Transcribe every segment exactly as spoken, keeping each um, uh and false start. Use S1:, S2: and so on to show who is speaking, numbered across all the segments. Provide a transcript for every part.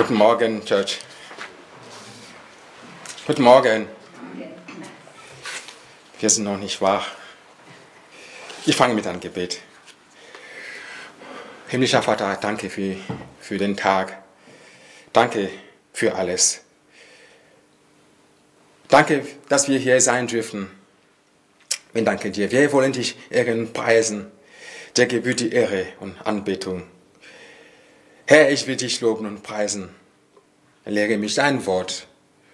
S1: Guten Morgen, Church. Guten Morgen. Wir sind noch nicht wach. Ich fange mit einem Gebet. Himmlischer Vater, danke für, für den Tag. Danke für alles. Danke, dass wir hier sein dürfen. Wir danken dir. Wir wollen dich ehren, preisen. Dir gebührt die Ehre und Anbetung. Herr, ich will dich loben und preisen. Lehre mich dein Wort.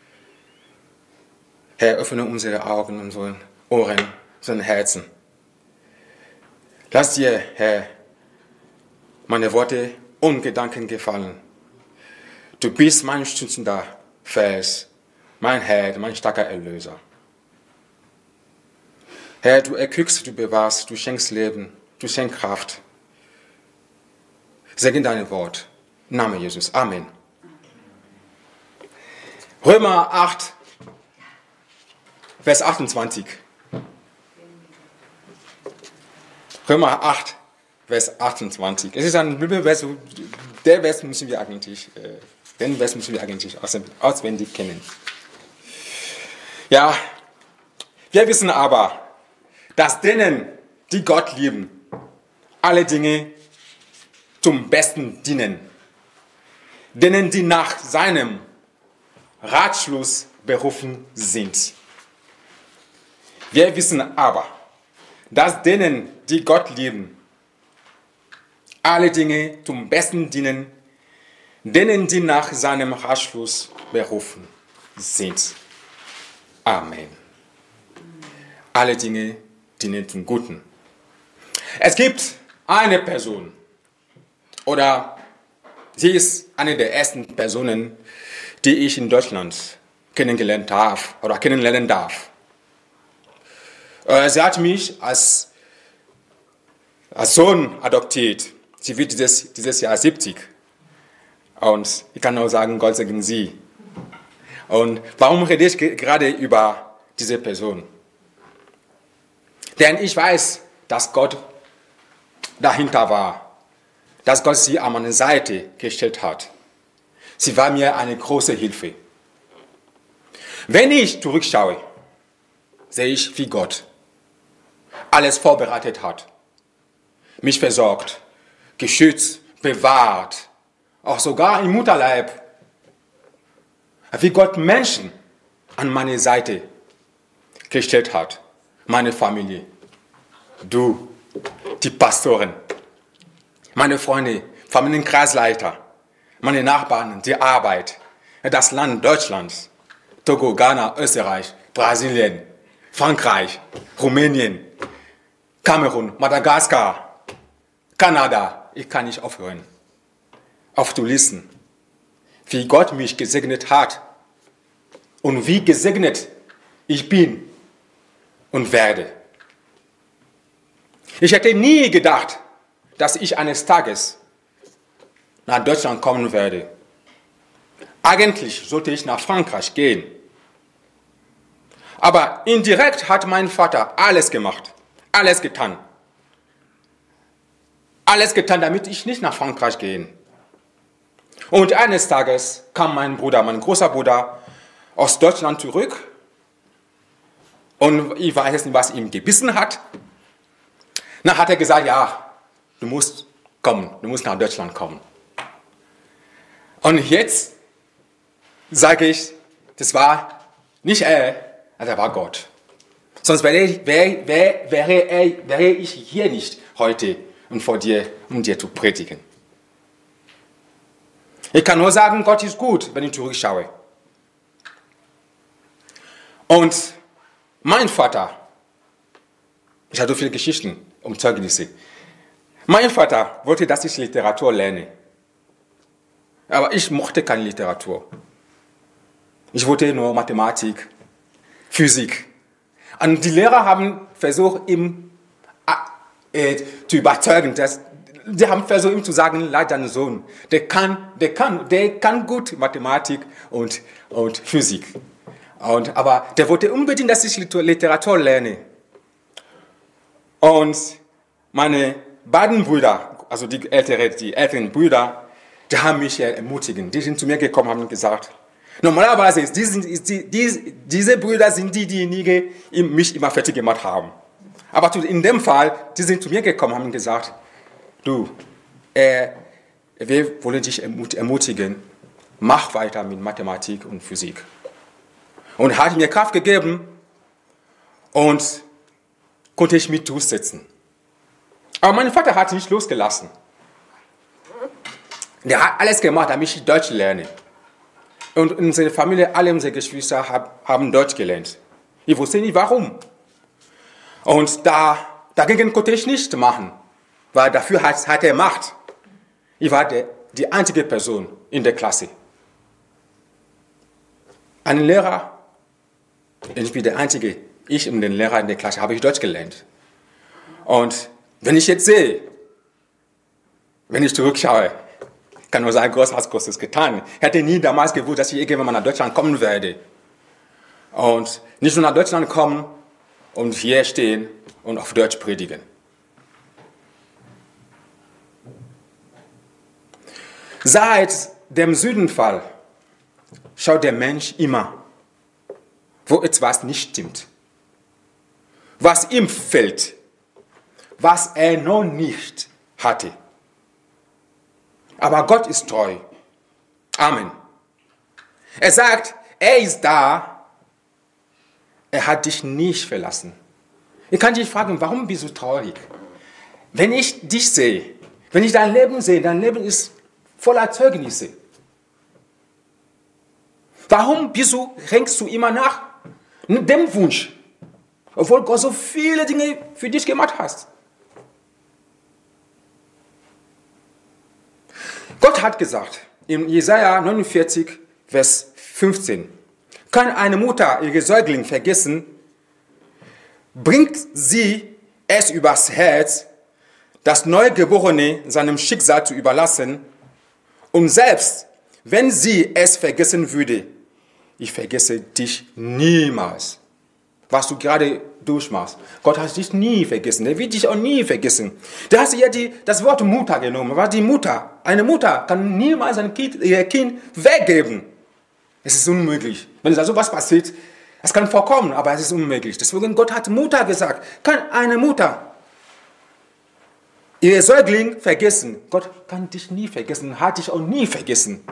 S1: Herr, öffne unsere Augen, unsere Ohren, unsere Herzen. Lass dir, Herr, meine Worte und Gedanken gefallen. Du bist mein stützender Fels, mein Herr, mein starker Erlöser. Herr, du erquickst, du bewahrst, du schenkst Leben, du schenkst Kraft. Segne dein Wort. Im Namen Jesus. Amen. Römer acht, Vers achtundzwanzig. Römer acht, Vers achtundzwanzig. Es ist ein Bibelvers, der Vers müssen wir eigentlich, äh, den Vers müssen wir eigentlich auswendig kennen. Ja, wir wissen aber, dass denen, die Gott lieben, alle Dinge zum Besten dienen. Denen, die nach seinem Ratschluss berufen sind. Wir wissen aber, dass denen, die Gott lieben, alle Dinge zum Besten dienen, denen, die nach seinem Ratschluss berufen sind. Amen. Alle Dinge dienen zum Guten. Es gibt eine Person, oder sie ist eine der ersten Personen, die ich in Deutschland kennengelernt darf oder kennenlernen darf. Sie hat mich als, als Sohn adoptiert. Sie wird dieses, dieses Jahr siebzig. Und ich kann nur sagen, Gott segne sie. Und warum rede ich gerade über diese Person? Denn ich weiß, dass Gott dahinter war. Dass Gott sie an meine Seite gestellt hat. Sie war mir eine große Hilfe. Wenn ich zurückschaue, sehe ich, wie Gott alles vorbereitet hat. Mich versorgt, geschützt, bewahrt, auch sogar im Mutterleib. Wie Gott Menschen an meine Seite gestellt hat. Meine Familie, du, die Pastoren, meine Freunde, Familienkreisleiter, meine Nachbarn, die Arbeit, das Land Deutschland, Togo, Ghana, Österreich, Brasilien, Frankreich, Rumänien, Kamerun, Madagaskar, Kanada. Ich kann nicht aufhören, aufzulisten, wie Gott mich gesegnet hat und wie gesegnet ich bin und werde. Ich hätte nie gedacht, dass ich eines Tages nach Deutschland kommen werde. Eigentlich sollte ich nach Frankreich gehen. Aber indirekt hat mein Vater alles gemacht, alles getan. Alles getan, damit ich nicht nach Frankreich gehe. Und eines Tages kam mein Bruder, mein großer Bruder, aus Deutschland zurück. Und ich weiß nicht, was ihm gebissen hat. Dann hat er gesagt, ja, du musst kommen, du musst nach Deutschland kommen. Und jetzt sage ich, das war nicht er, das war Gott. Sonst wäre, ich, wäre, wäre, wäre, er, wäre ich hier nicht heute und vor dir, um dir zu predigen. Ich kann nur sagen, Gott ist gut, wenn ich zurückschaue. Und mein Vater, ich habe so viele Geschichten um Zeugnisse. Mein Vater wollte, dass ich Literatur lerne. Aber ich mochte keine Literatur. Ich wollte nur Mathematik, Physik. Und die Lehrer haben versucht, ihn äh, zu überzeugen. Dass, die haben versucht, ihm zu sagen, leid deinen Sohn. Der kann, der kann, der kann gut Mathematik und, und Physik. Und, aber der wollte unbedingt, dass ich Literatur lerne. Und meine beiden Brüder, also die älteren, die älteren Brüder, die haben mich ermutigt. Die sind zu mir gekommen und haben gesagt, normalerweise ist die, ist die, die, diese Brüder sind die, diejenigen, die mich immer fertig gemacht haben. Aber in dem Fall, die sind zu mir gekommen und haben gesagt, du, äh, wir wollen dich ermutigen, mach weiter mit Mathematik und Physik. Und hat mir Kraft gegeben und konnte ich mich durchsetzen. Aber mein Vater hat nicht losgelassen. Der hat alles gemacht, damit ich Deutsch lerne. Und unsere Familie, alle unsere Geschwister haben Deutsch gelernt. Ich wusste nicht warum. Und da, dagegen konnte ich nichts machen, weil dafür hat, hat er Macht. Ich war der, die einzige Person in der Klasse. Ein Lehrer, ich bin der Einzige, ich und den Lehrer in der Klasse, habe ich Deutsch gelernt. Und wenn ich jetzt sehe, wenn ich zurückschaue, kann nur sagen, Gott hat Großes getan. Ich hätte nie damals gewusst, dass ich irgendwann mal nach Deutschland kommen werde. Und nicht nur nach Deutschland kommen und hier stehen und auf Deutsch predigen. Seit dem Sündenfall schaut der Mensch immer, wo etwas nicht stimmt. Was ihm fehlt, was er noch nicht hatte. Aber Gott ist treu. Amen. Er sagt, er ist da. Er hat dich nicht verlassen. Ich kann dich fragen, warum bist du traurig? Wenn ich dich sehe, wenn ich dein Leben sehe, dein Leben ist voller Zeugnisse. Warum bist du, hängst du immer nach dem Wunsch, obwohl Gott so viele Dinge für dich gemacht hat? Gott hat gesagt, in Jesaja neunundvierzig, Vers fünfzehn, kann eine Mutter ihre Säugling vergessen, bringt sie es übers Herz, das Neugeborene seinem Schicksal zu überlassen, und selbst wenn sie es vergessen würde, ich vergesse dich niemals. Was du gerade durchmachst. Gott hat dich nie vergessen. Er wird dich auch nie vergessen. Da hast du ja die, das Wort Mutter genommen. Aber die Mutter, eine Mutter kann niemals ein Kind, ihr Kind weggeben. Es ist unmöglich. Wenn da sowas passiert, es kann vorkommen, aber es ist unmöglich. Deswegen Gott hat Mutter gesagt. Kann eine Mutter ihr Säugling vergessen? Gott kann dich nie vergessen, hat dich auch nie vergessen.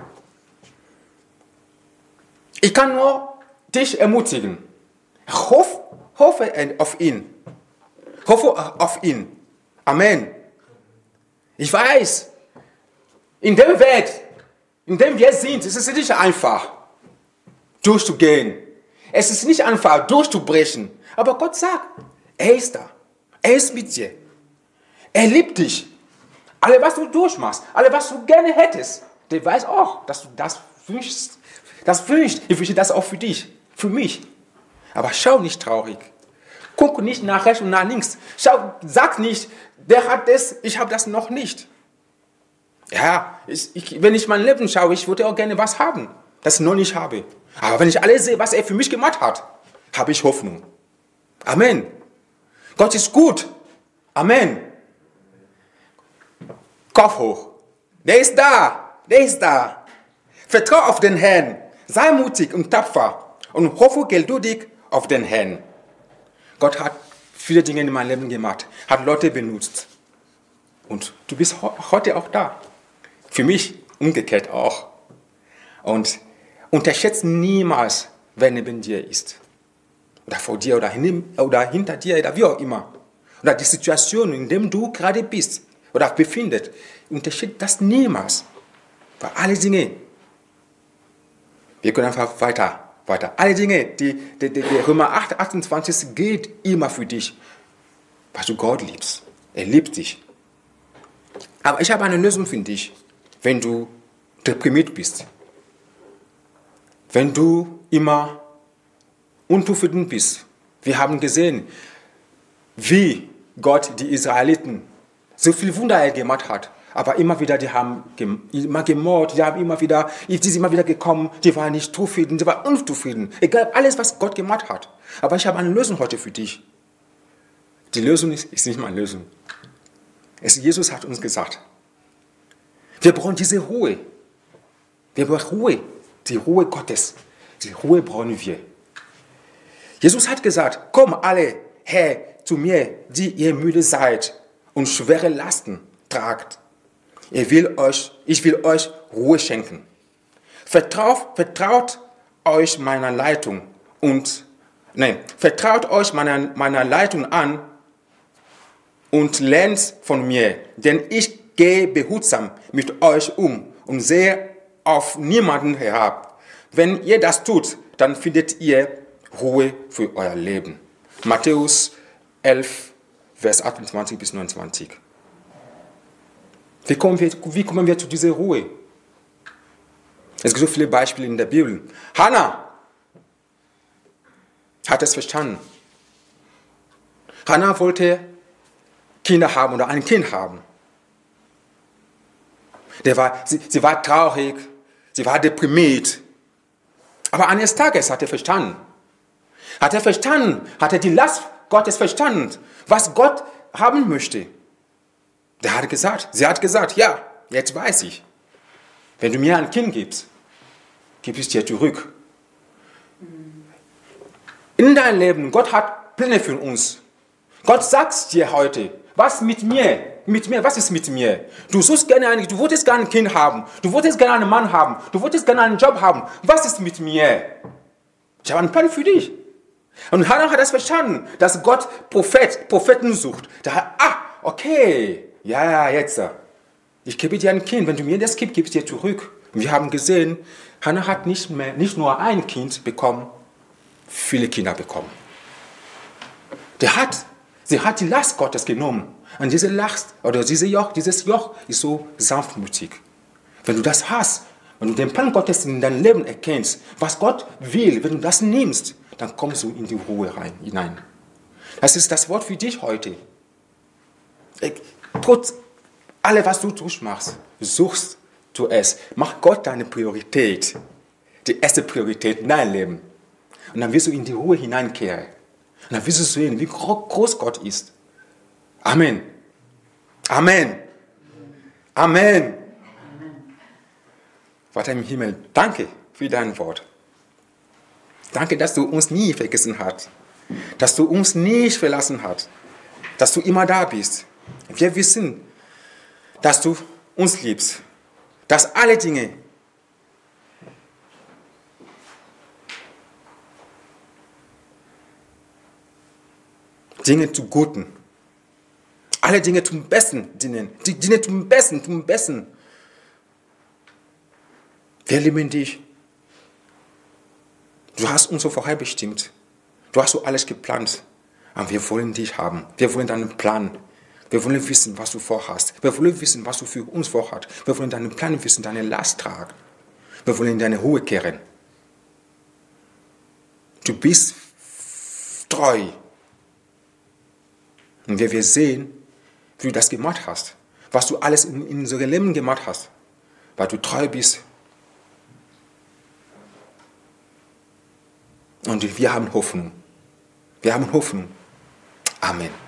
S1: Ich kann nur dich ermutigen. Hoff, hoffe auf ihn. Hoffe auf ihn. Amen. Ich weiß, in dem Weg, in dem wir sind, ist es nicht einfach, durchzugehen. Es ist nicht einfach, durchzubrechen. Aber Gott sagt, er ist da. Er ist mit dir. Er liebt dich. Alles, was du durchmachst, alles, was du gerne hättest, der weiß auch, dass du das wünschst. Das wünscht. Ich wünsche das auch für dich, für mich. Aber schau nicht traurig. Guck nicht nach rechts und nach links. Schau, sag nicht, der hat das, ich habe das noch nicht. Ja, ich, ich, wenn ich mein Leben schaue, ich würde auch gerne was haben, das ich noch nicht habe. Aber wenn ich alles sehe, was er für mich gemacht hat, habe ich Hoffnung. Amen. Gott ist gut. Amen. Kopf hoch. Der ist da. Der ist da. Vertrau auf den Herrn. Sei mutig und tapfer und hoffe geduldig auf den Herrn. Gott hat viele Dinge in meinem Leben gemacht, hat Leute benutzt. Und du bist heute auch da. Für mich umgekehrt auch. Und unterschätze niemals, wer neben dir ist. Oder vor dir oder, hin, oder hinter dir oder wie auch immer. Oder die Situation, in der du gerade bist oder befindest. Unterschätze das niemals. Weil alle Dinge, wir können einfach weiter, weiter. Alle Dinge, die, die, die, die Römer acht, achtundzwanzig gilt immer für dich, weil du Gott liebst. Er liebt dich. Aber ich habe eine Lösung für dich, wenn du deprimiert bist. Wenn du immer unzufrieden bist. Wir haben gesehen, wie Gott die Israeliten so viel Wunder gemacht hat. Aber immer wieder, die haben immer gemordet, die haben immer wieder, die sind immer wieder gekommen, die waren nicht zufrieden, die waren unzufrieden. Egal, alles, was Gott gemacht hat. Aber ich habe eine Lösung heute für dich. Die Lösung ist, ist nicht meine Lösung. Es, Jesus hat uns gesagt, Wir brauchen diese Ruhe. Wir brauchen Ruhe. Die Ruhe Gottes. Die Ruhe brauchen wir. Jesus hat gesagt, komm alle her zu mir, die ihr müde seid und schwere Lasten tragt. Ich will euch, ich will euch Ruhe schenken. Vertraut, vertraut euch meiner Leitung und nein, vertraut euch meiner, meiner Leitung an und lernt von mir, denn ich gehe behutsam mit euch um und sehe auf niemanden herab. Wenn ihr das tut, dann findet ihr Ruhe für euer Leben. Matthäus elf, Vers achtundzwanzig bis neunundzwanzig. Wie kommen wir, wie kommen wir zu dieser Ruhe? Es gibt so viele Beispiele in der Bibel. Hannah hat es verstanden. Hannah wollte Kinder haben oder ein Kind haben. Der war, sie, sie war traurig, sie war deprimiert. Aber eines Tages hat er verstanden. Hat er verstanden, hat er die Last Gottes verstanden, was Gott haben möchte. Der hat gesagt, sie hat gesagt, ja, jetzt weiß ich. Wenn du mir ein Kind gibst, gib es dir zurück. In deinem Leben, Gott hat Pläne für uns. Gott sagt dir heute, was mit mir, mit mir, was ist mit mir? Du suchst gerne ein, du wolltest gerne ein Kind haben, du wolltest gerne einen Mann haben, du wolltest gerne einen Job haben. Was ist mit mir? Ich habe einen Plan für dich. Und Hannah hat das verstanden, dass Gott Prophet, Propheten sucht. Da hat, ah, okay, ja, jetzt. Ich gebe dir ein Kind, wenn du mir das gibst, gebe ich dir zurück. Und wir haben gesehen, Hannah hat nicht, mehr, nicht nur ein Kind bekommen, viele Kinder bekommen. Der hat, sie hat die Last Gottes genommen. Und diese Last, oder diese Joch, dieses Joch ist so sanftmütig. Wenn du das hast, wenn du den Plan Gottes in deinem Leben erkennst, was Gott will, wenn du das nimmst, dann kommst du in die Ruhe rein, hinein. Das ist das Wort für dich heute. Trotz allem, was du durchmachst, suchst du es. Mach Gott deine Priorität. Die erste Priorität in deinem Leben. Und dann wirst du in die Ruhe hineinkehren. Und dann wirst du sehen, wie groß Gott ist. Amen. Amen. Amen. Vater im Himmel, danke für dein Wort. Danke, dass du uns nie vergessen hast. Dass du uns nicht verlassen hast. Dass du immer da bist. Wir wissen, dass du uns liebst. Dass alle Dinge Dinge zu Guten. Alle Dinge zum Besten dienen. Die Dinge zum Besten, zum Besten. Wir lieben dich. Du hast uns so vorherbestimmt. Du hast so alles geplant. Aber wir wollen dich haben. Wir wollen deinen Plan. Wir wollen wissen, was du vorhast. Wir wollen wissen, was du für uns vorhast. Wir wollen deinen Plan wissen, deine Last tragen. Wir wollen in deine Ruhe kehren. Du bist treu. Und wenn wir sehen, wie du das gemacht hast, was du alles in, in unserem Leben gemacht hast, weil du treu bist. Und wir haben Hoffnung. Wir haben Hoffnung. Amen.